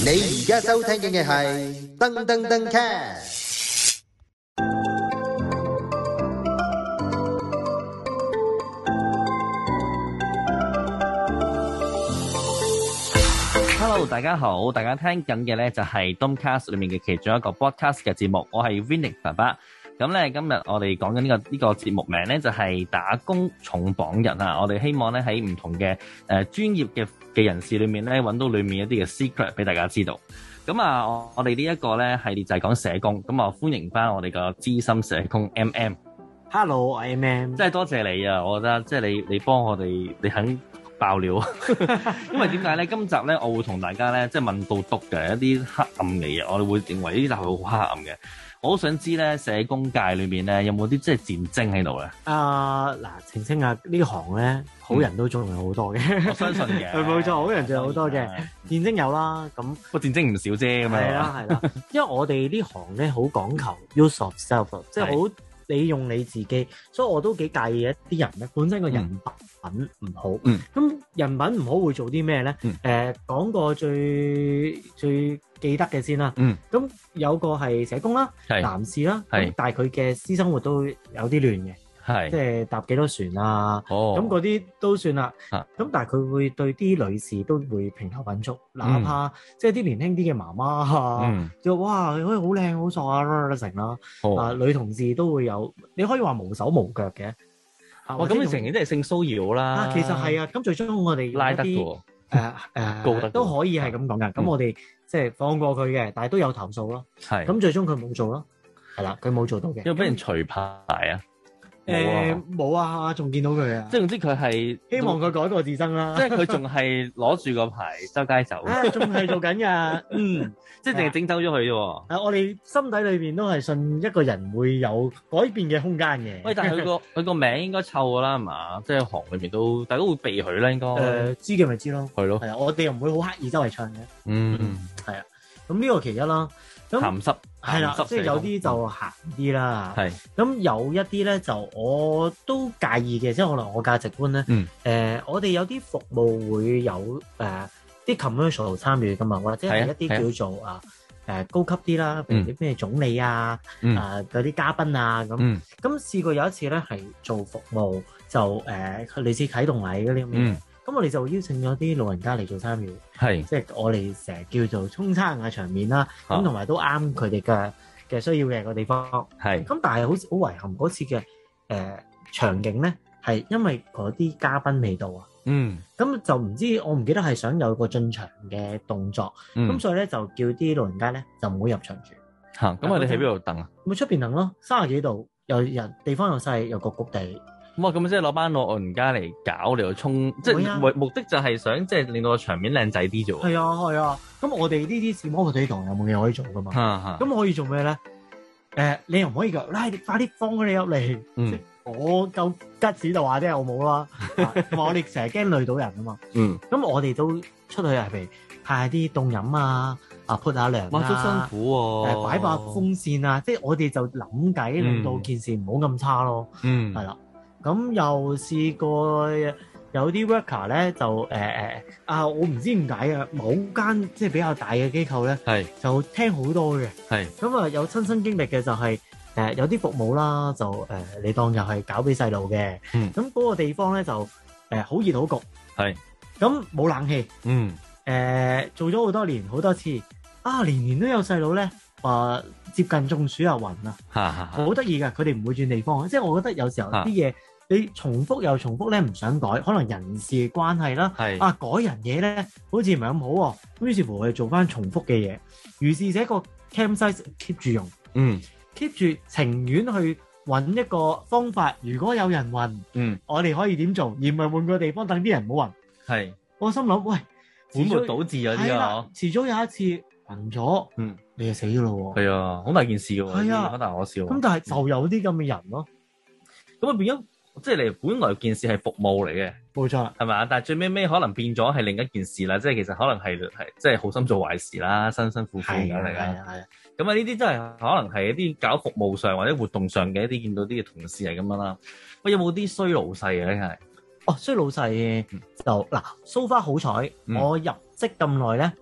你而家收聽嘅係噔噔噔 cast。 Hello， 大家好，大家聽緊嘅咧就係 Domcast 裏面嘅其中一個 podcast 嘅節目，我係 Vinny 爸爸。咁咧今日我哋講緊呢個節目名咧就係打工重磅人啊！我哋希望咧喺唔同嘅專業嘅人士裏面咧揾到裏面一啲嘅 secret 俾大家知道。咁啊，我哋呢一個咧系列就係講社工，咁啊歡迎翻我哋個資深社工 Hello， 我係 MM。 真係多謝你啊！我覺得即係你幫我哋，你肯爆料，因為點解咧？今集咧我會同大家咧即係問到篤嘅一啲黑暗嘅嘢，我哋會認為呢集係好黑暗嘅。我好想知咧，社工界裏面咧有冇啲即係戰爭喺度咧？ 嗱，澄清下呢行咧，好人都仲有好多嘅。 我相信嘅， 冇錯，好人仲有好多嘅。戰爭有啦，咁個戰爭唔少啫，咁樣。 係啦，因為我哋呢行咧好講求 use of self， 即係好你用你自己，所以我都幾介意一啲人咧，本身個人品唔好。咁人品唔好會做啲咩咧？講個最記得嘅先啦。咁有個係社工啦，男士啦，但係佢嘅私生活都有啲亂嘅，即係搭幾多船啊，咁嗰啲都算啦。咁但係佢會對啲女士都會評頭品足，哪怕即係啲年輕啲嘅媽媽啊，就哇佢可以好靚好索啊成啦。女同事都會有，你可以話無手無腳嘅。 哇！咁你成日都係性騷擾啦。 其實係啊，咁最終我哋拉得嘅告得都可以係咁講噶。咁我哋即係放過佢嘅，但係都有投訴咯。咁最終佢冇做咯。係啦，佢冇做到嘅。 因為俾人除牌啊。 冇啊，仲見到佢啊！ 即係總之佢係希望佢改過自身啦。 即係佢仲係攞住個牌周街走， 仲係做緊㗎。 即係淨係整走咗佢啫喎。 我哋心底裏邊都係信一個人會有改變嘅空間嘅。 喂，但係佢個名應該臭㗎啦，係嘛？即係行裏面都大家會避佢啦，應該。 知嘅咪知咯。 係咯。 係啊，我哋又唔會好刻意周圍唱嘅。係啊。咁呢個其一啦。 鹹濕係啦，即係有啲就鹹啲啦。咁有一啲咧就我都介意嘅，即係可能我價值觀咧。我哋有啲服務會有啲 commercial 參與噶嘛，或者係一啲叫做高級啲啦，譬如啲咩總理啊嗰啲嘉賓啊咁。咁試過有一次咧係做服務，就類似啟動禮嗰啲咁嘅。咁我哋就邀請咗啲老人家嚟做參與，即係我哋成日叫做沖餐嘅場面啦。咁同埋都啱佢哋嘅需要嘅個地方。咁但係好遺憾嗰次嘅場景咧，係因為嗰啲嘉賓未到啊。咁就唔知我唔記得係想有個進場嘅動作，咁所以咧就叫啲老人家咧就唔好入場住。 咁我哋喺邊度等啊？ 咪出邊等咯，30幾度，又人地方又細，又焗焗地。 哇！咁即係攞班老人家嚟搞嚟到沖，即係目的就係想即係令到個場面靚仔啲啫喎。 係啊。咁我哋呢啲視摩佢哋堂有冇嘢可以做噶嘛？咁可以做咩咧？你又唔可以㗎，你快啲放佢哋入嚟。即我夠吉士就話啫，我冇啦。我哋成日驚累到人啊嘛。咁我哋都出去係譬如派啲凍飲啊，潑下涼啊。 哇！都辛苦喎。 擺把風扇啊，即係我哋就諗計令到件事唔好咁差咯。係啦。咁又試過有啲 worker 咧就我唔知點解啊，某間即係比較大嘅機構咧，就聽好多嘅。咁啊有親身經歷嘅就係有啲服務啦，就你當又係搞俾細路嘅。咁嗰個地方咧就好熱好焗。咁冇冷氣。做咗好多年好多次，年年都有細路咧話接近中暑啊暈啊，好得意㗎，佢哋唔會轉地方。即係我覺得有時候啲嘢。你重複又重複咧，唔想改，可能人事關係啦。改人嘢咧，好似唔係咁好喎。咁於是乎我哋做翻重複嘅嘢，如是這個 campsite keep 住用，keep 住情願去揾一個方法。如果有人暈，我哋可以點做，而唔係換個地方等啲人唔好暈。我心諗，喂， 本末倒置嗰啲啊， 遲早有一次暈咗，你就死㗎咯喎。 係啊，好大件事㗎喎。 係啊， 好大可笑。 咁但係就有啲咁嘅人咯， 咁啊變咗。即係你本來件事係服務嚟嘅， 冇錯， 係咪？但係最尾可能變咗係另一件事啦。即係其實可能係即係好心做壞事啦，辛辛苦苦咁嚟㗎。咁啊呢啲真係可能係一啲搞服務上或者活動上嘅一啲見到啲嘅同事係咁樣啦。喂，有冇啲衰老細嘅咧？係衰老細就嗱，so far好彩，我入職咁耐咧。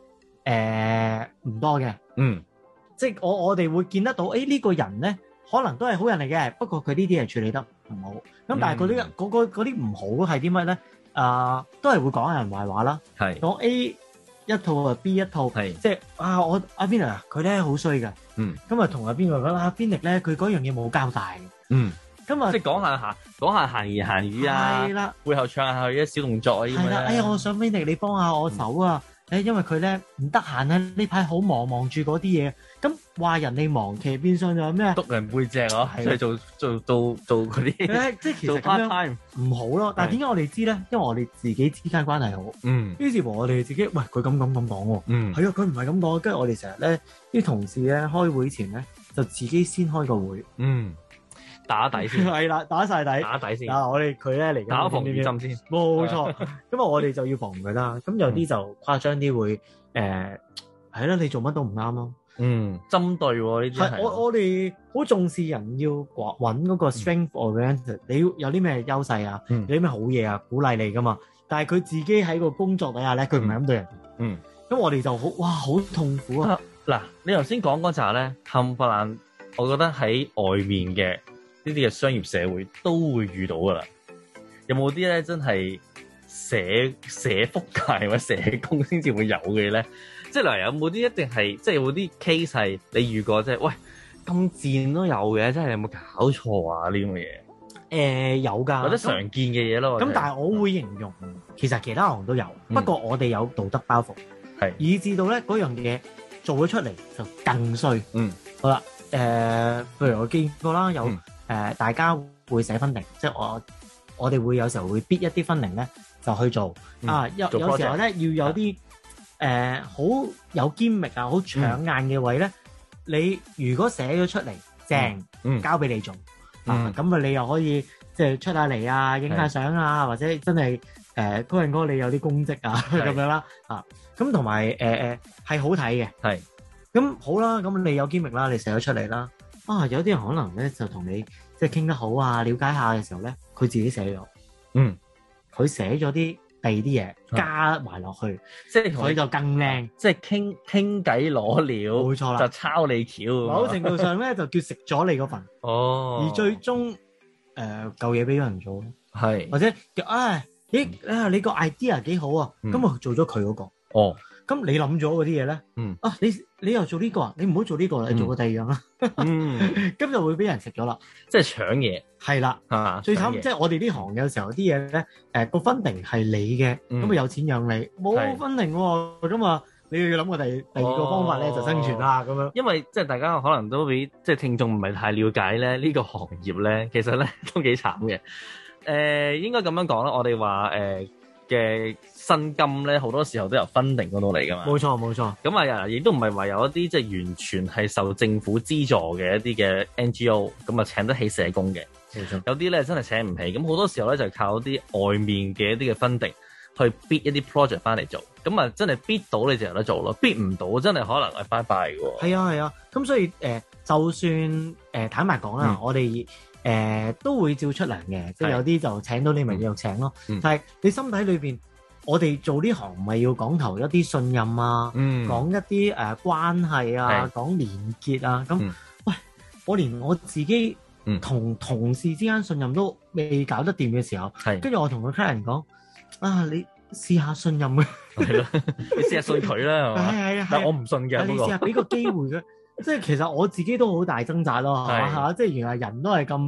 唔多嘅。即係我哋會見得到，呢個人咧可能都係好人嚟嘅，不過佢呢啲係處理得唔好。咁但係嗰啲唔好係啲乜咧？都係會講人壞話啦，講 A 一套啊 B 一套，即係我阿 Vinny 佢咧好衰㗎，咁啊同阿邊個講阿 Vinny 咧佢嗰樣嘢冇交代，咁啊即係講下閒言閒語啊，係啦，背後唱下佢啲小動作啊，係啦， 哎呀我想 Vinny 你幫下我手啊！因為佢咧唔得閒啊，呢排好忙住嗰啲嘢，咁話人哋忙，其實變相就係咩？ 督人背脊咯，即係做嗰啲， 即係其實咁樣唔好咯。但係點解我哋知咧？因為我哋自己之間關係好，於是乎我哋自己喂佢咁講喎，係啊，佢唔係咁講，跟住我哋成日咧啲同事咧開會前咧就自己先開個會，打底先，係啦，打晒底，打底先。我哋佢咧嚟打防雨針先， 冇錯。咁我哋就要防佢啦。咁有啲就誇張啲會係啦，你做乜都唔啱咯。 針對呢啲係。 我哋好重視人要揾嗰個 strength oriented，你要有啲咩優勢啊，有啲咩好嘢啊，鼓勵你噶嘛。但係佢自己喺個工作底下咧，佢唔係咁對人。咁我哋就好痛苦啊。 嗱，你頭先講嗰扎咧，冚唪唥，我覺得喺外面嘅呢啲嘅商業社會都會遇到噶啦。有冇啲咧真係社福界或者社工先至會有嘅咧？即係例如有冇啲一定係即係有冇啲 case 係你遇過即係喂咁賤都有嘅，真係有冇搞錯啊呢啲咁嘅嘢？ 有㗎， 或者常見嘅嘢咯。 咁但係我會形容其實其他行都有，不過我哋有道德包袱，以至到咧嗰樣嘢做咗出嚟就更衰。好啦，譬如我見過啦，有大家會寫分定，即係我哋會有時候會逼一啲分定咧就去做有時候咧要有啲好有堅力啊，好搶眼嘅位咧，你如果寫咗出嚟正，交俾你做咁你又可以即係出下嚟啊，影下相啊，或者真係嗰陣哥你有啲功績啊咁樣啦咁同埋係好睇嘅，咁好啦，咁你有堅力啦，你寫咗出嚟啦，有啲人可能咧就同你即係傾得好啊，了解下嘅時候咧，佢自己寫咗，佢寫咗啲第二啲嘢加埋落去，即係佢就更靚， 即係傾偈攞料， 冇錯啦， 就抄你橋， 某程度上咧就叫食咗你嗰份，而最終舊嘢俾咗人做，或者叫你個 idea 幾好啊，咁我做咗佢嗰個，咁你諗咗嗰啲嘢咧，你又做呢個啊，你唔好做呢個啦，你做個第二樣啦，咁就會俾人食咗啦， 即係搶嘢， 係啦，最慘即係我哋呢行有時候啲嘢咧，個分定係你嘅，咁啊有錢養你，冇分定喎，咁啊你要諗個第二個方法咧就生存啦咁樣， 因為即係大家可能都比即係聽眾唔係太了解咧呢個行業咧，其實咧都幾慘嘅，應該咁樣講啦，我哋話嘅薪金咧，好多時候都由分定嗰度嚟噶嘛。冇錯。 咁啊，亦都唔係話有一啲即係完全係受政府資助嘅一啲嘅 NGO，咁啊請得起社工嘅。冇錯。有啲咧真係請唔起，咁好多時候咧就係靠啲外面嘅一啲嘅分定去 bid 一啲 project 翻嚟做，咁啊真係 bid 到你就有得做咯，bid 唔到真係可能係拜拜嘅喎。 係啊，咁所以就算坦白講啦，我哋都會照出糧嘅，即係有啲就請到你咪繼續請咯。但係你心底裏邊，我哋做呢行唔係要講求一啲信任啊，講一啲關係啊，講連結啊。咁喂，我連我自己同同事之間信任都未搞得掂嘅時候，跟住我同個客人講你試下信任嘅， 係咯，你試下信佢啦，係嘛？係，但我唔信嘅。 你試下俾個機會佢。即係其實我自己都好大掙扎咯，嚇！即係原來人都係咁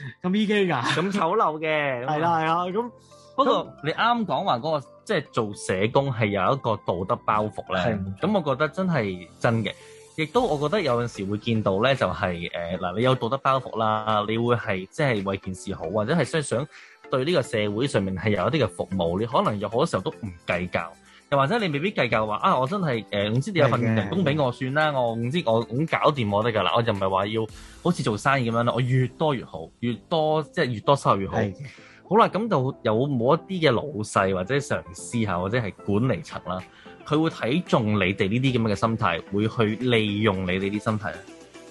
EK㗎， 咁醜陋嘅， 係啦，咁不過你啱講話嗰個即係做社工係有一個道德包袱咧，咁我覺得真係真嘅，亦都我覺得有陣時會見到咧，就係嗱，你有道德包袱啦，你會係即係為件事好，或者係想對呢個社會上面係有一啲嘅服務，你可能有好多時候都唔計較。又或者你未必計較話我真係唔知你有份人工俾我算啦，我唔知我咁搞掂我得㗎啦，我就唔係話要好似做生意咁樣啦，我越多越好，越多即係越多收入越好。好啦，咁就有冇一啲嘅老細或者上司嚇，或者係管理層啦，佢會睇中你哋呢啲咁嘅心態，會去利用你哋啲心態咧？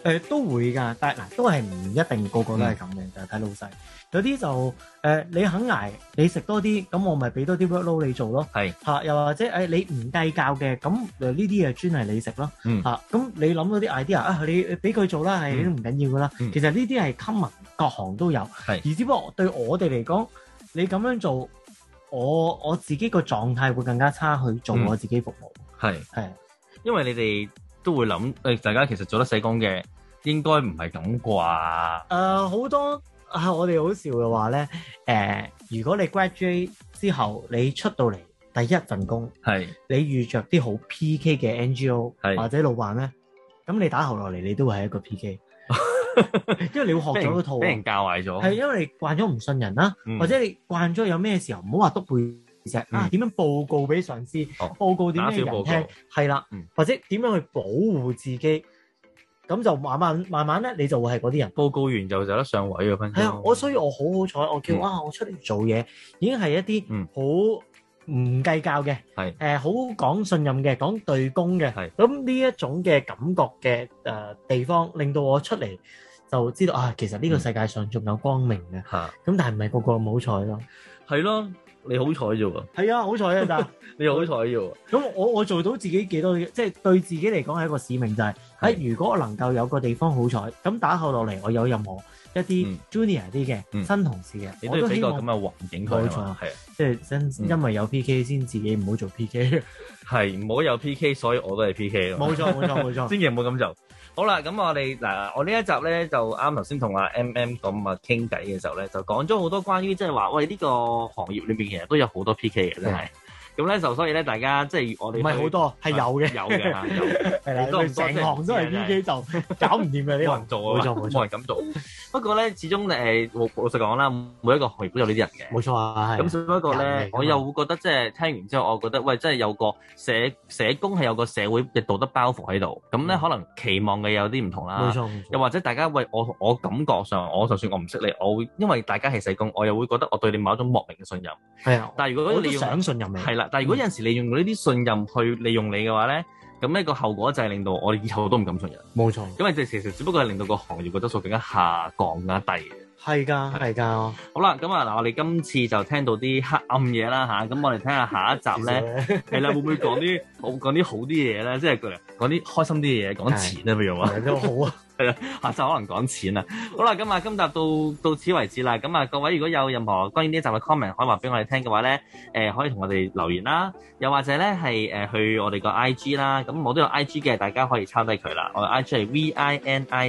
都會㗎，但係嗱都係唔一定個個都係咁嘅，就係睇老細。有啲就你肯捱，你食多啲，咁我咪俾多啲 workload 你做咯。 係嚇，又或者你唔計較嘅，咁呢啲嘢專係你食咯。嚇，咁你諗到啲 idea 啊，你俾佢做啦，係都唔緊要噶啦。其實呢啲係 common，各行都有。係，而只不過對我哋嚟講，你咁樣做，我自己個狀態會更加差去做我自己服務。係， 因為你哋都會諗大家其實做得社工嘅應該唔係咁啩。 好多。我哋好笑嘅話咧，如果你 graduate 之後，你出到嚟第一份工，你遇着啲好 PK 嘅 NGO 或者老闆咧，咁你打後落嚟，你都會係一個 PK，因為你會學咗嗰套， 俾人教壞咗， 係因為你慣咗唔信人啦，或者你慣咗有咩時候唔好話督背脊啊，點樣報告俾上司，報告點樣人聽，係啦，或者點樣去保護自己。咁就慢慢咧，你就會係嗰啲人。報告完就得上位嘅分。 係啊，所以我好好彩，我叫我出嚟做嘢，已經係一啲好唔計較嘅，好講信任嘅，講對公嘅。咁呢一種嘅感覺嘅地方，令到我出嚟就知道啊，其實呢個世界上仲有光明嘅。咁但係唔係個個咁好彩咯。 係咯，你好彩啫喎。 係啊，好彩啊，但你好彩啫喎。 咁我做到自己幾多，即係對自己嚟講係一個使命，就係如果我能夠有個地方好彩，咁打後落嚟，我有任何一啲 junior 啲嘅新同事嘅， 你都俾個咁嘅環境佢。冇錯，係即係因為有 PK 先自己唔好做 PK。 係唔好有 PK，所以我都係 PK 咯。 冇錯， 千祈唔好咁做。好啦，咁我哋嗱，我呢一集咧就啱頭先同阿 MM 咁啊傾偈嘅時候咧，就講咗好多關於即係話，喂呢個行業裏邊其實都有好多 PK 嘅，真係。咁咧就所以咧，大家即係我哋唔係好多，係有嘅，係啦，成行都係 PK 就搞唔掂嘅呢個。冇人做啊， 冇人咁做。不過咧，始終老實講啦，每一個行業都有呢啲人嘅。 冇錯啊，係。咁只不過咧，我又會覺得即係聽完之後，我覺得喂，真係有個社工係有個社會嘅道德包袱喺度。咁咧可能期望嘅有啲唔同啦。冇錯。又或者大家喂我感覺上，就算我唔識你，我會因為大家係社工，我又會覺得我對你某一種莫名嘅信任。係啊。但係如果你想信任你， 係啦。但係如果有陣時你用呢啲信任去利用你嘅話咧，咁呢個後果就係令到我哋以後都唔敢信任。冇錯，因為其實只不過係令到個行業嘅質素更加下降更加低嘅。係㗎。好啦，咁嗱，我哋今次就聽到啲黑暗嘢啦吓，咁我哋睇下下一集咧，係啦，會唔會講啲好啲嘢咧？即係講啲開心啲嘢，講錢啊，譬如話都好啊。 係啦，下集可能講錢啦。好啦，咁今集到此為止啦。咁啊，各位如果有任何關於呢一集嘅 comment 可以話俾我哋聽嘅話咧，可以同我哋留言啦。又或者咧係去我哋個 IG 啦。咁我都有 IG 嘅，大家可以抄低佢啦。我嘅 IG 係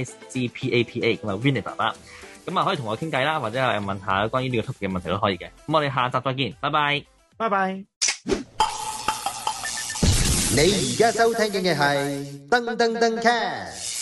VINICPAPA，咁啊 Vinny 爸爸。咁啊可以同我傾偈啦，或者係問下關於呢個 topic 嘅問題都可以嘅。咁我哋下集再見，拜拜， 拜拜。 你而家收聽嘅係噔噔噔 cast。